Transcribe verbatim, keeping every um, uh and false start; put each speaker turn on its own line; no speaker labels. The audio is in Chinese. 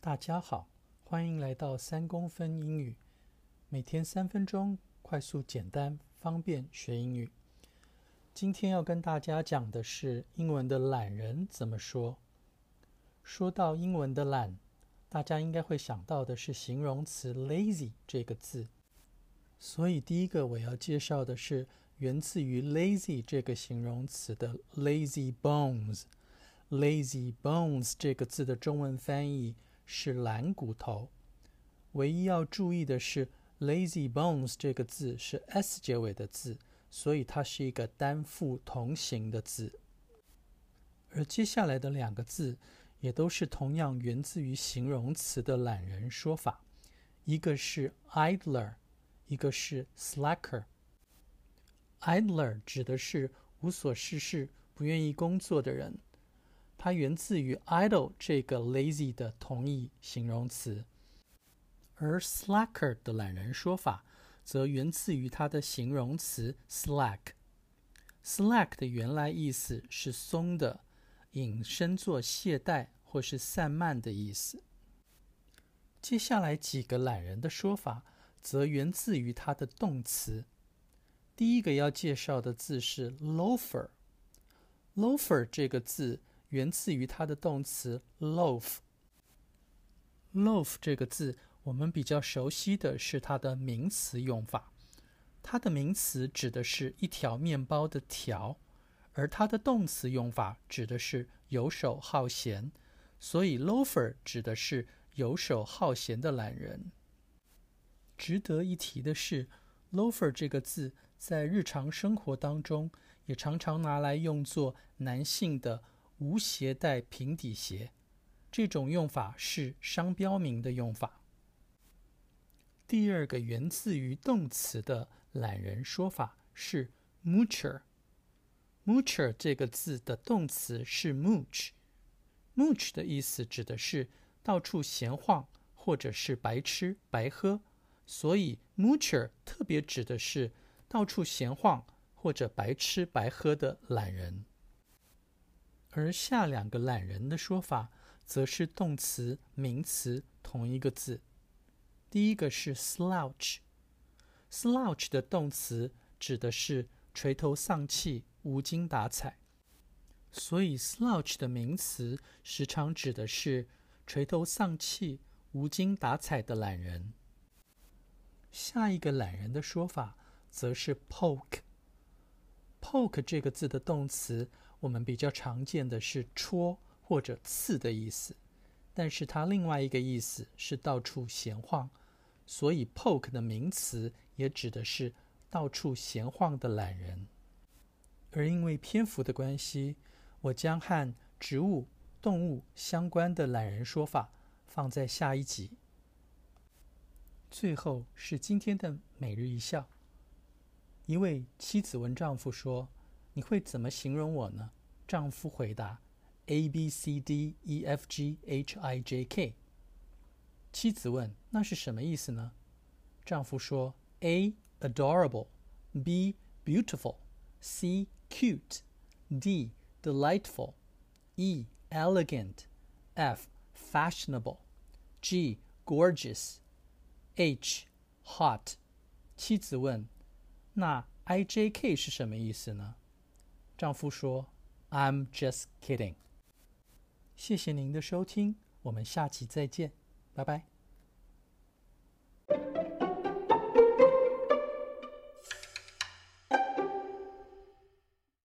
大家好，欢迎来到三公分英语，每天三分钟，快速简单方便学英语。今天要跟大家讲的是英文的懒人怎么说。说到英文的懒，大家应该会想到的是形容词 lazy 这个字，所以第一个我要介绍的是源自于 lazy 这个形容词的 lazy bones。lazy bones 这个字的中文翻译是懒骨头。唯一要注意的是 lazy bones 这个字是 s 结尾的字，所以它是一个单复同形的字。而接下来的两个字也都是同样源自于形容词的懒人说法，一个是 idler， 一个是 slacker。idler 指的是无所事事、不愿意工作的人，它源自于 idle 这个 lazy 的同义形容词。而 slacker 的懒人说法则源自于它的形容词 slack。slack 的原来意思是松的，引申作懈怠或是散漫的意思。接下来几个懒人的说法则源自于它的动词。第一个要介绍的字是 loafer。loafer 这个字源自于它的动词 loaf。loaf 这个字我们比较熟悉的是它的名词用法，它的名词指的是一条面包的条，而它的动词用法指的是游手好闲，所以 loafer 指的是游手好闲的懒人。值得一提的是 loafer 这个字在日常生活当中也常常拿来用作男性的无鞋带平底鞋，这种用法是商标名的用法。第二个源自于动词的懒人说法是 moocher。moocher 这个字的动词是 mooch。mooch 的意思指的是到处闲晃或者是白吃白喝，所以 moocher 特别指的是到处闲晃或者白吃白喝的懒人。而下两个懒人的说法则是动词名词同一个字。第一个是 slouch。slouch 的动词指的是垂头丧气、无精打采，所以 slouch 的名词时常指的是垂头丧气、无精打采的懒人。下一个懒人的说法则是 poke。poke 这个字的动词我们比较常见的是戳或者刺的意思，但是它另外一个意思是到处闲晃，所以 poke 的名词也指的是到处闲晃的懒人。而因为篇幅的关系，我将和植物、动物相关的懒人说法放在下一集。最后是今天的每日一笑。一位妻子问丈夫说：“你会怎么形容我呢？”丈夫回答 A B C D E F G H I J K。 妻子问：“那是什么意思呢？”丈夫说 A adorable， B beautiful， C cute， D delightful， E elegant， F fashionable， G gorgeous， H hot。 妻子问：“那 I J K 是什么意思呢？”丈夫说 I'm just kidding。 谢谢您的收听，我们下期再见，拜拜。